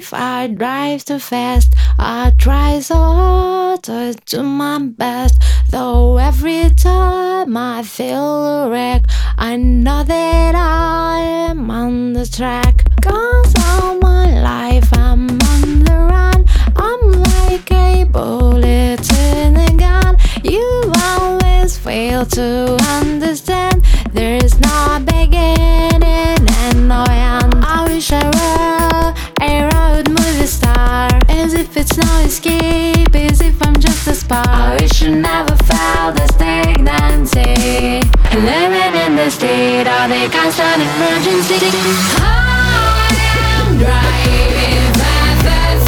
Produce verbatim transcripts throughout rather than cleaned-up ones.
life, I drive too fast. I try so hard to do my best, though every time I feel a wreck, I know that I am on the track. Cause all my life I'm on the run, I'm like a bullet in a gun. You always fail to understand, there's no beginning and no end. I wish I were a road movie star, as if it's no escape, as if I'm just a spark. I wish I never felt the stagnancy, living in the state of the constant emergency. I am driving fast, fast,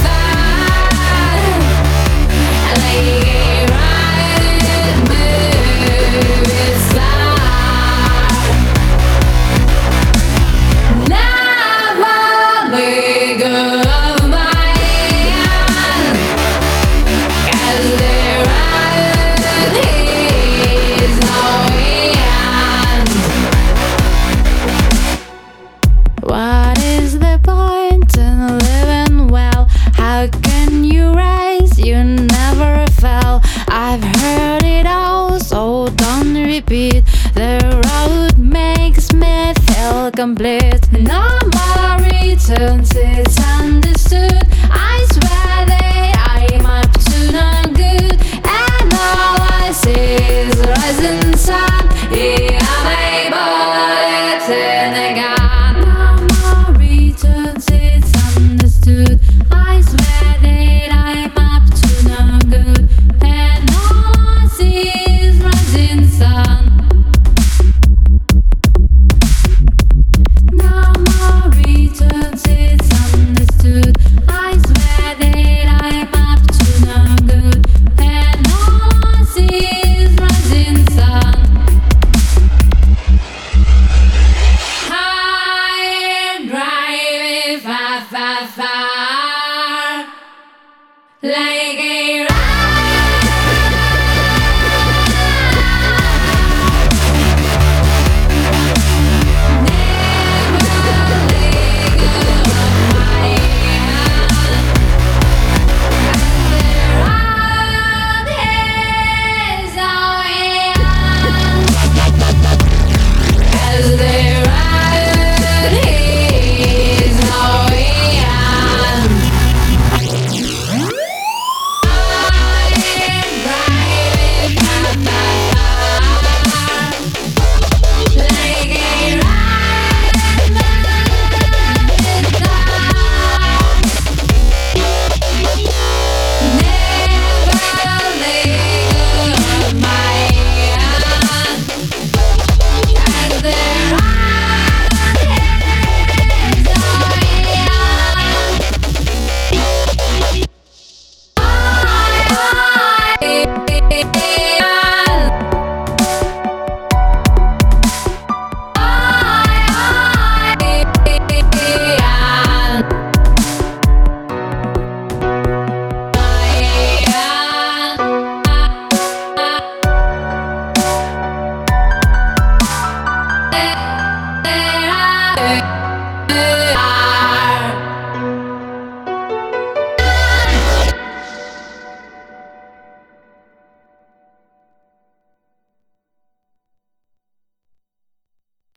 fast, like a rocket movie star. Never let go of my hand, 'cause the road is no end. What is the point in living well? How can you rise? You never fell. I've heard it all, so don't repeat. The road makes me feel complete. No more returns, it's understood. I swear that I'm up to no good, and all I see is rising sun. Yeah,